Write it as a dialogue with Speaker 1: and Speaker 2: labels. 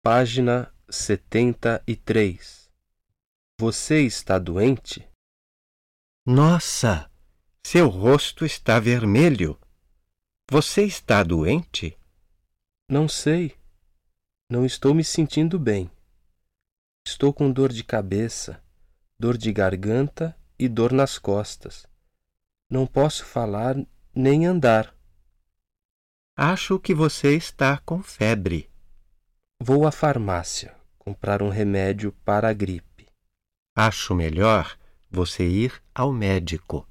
Speaker 1: Página 73. Você está doente?
Speaker 2: Nossa, seu rosto está vermelho. Você está doente?
Speaker 1: Não sei. Não estou me sentindo bem. Estou com dor de cabeça, dor de garganta e dor nas costas. Não posso falar nem andar.
Speaker 2: Acho que você está com febre.
Speaker 1: Vou à farmácia comprar um remédio para a gripe.
Speaker 2: Acho melhor você ir ao médico.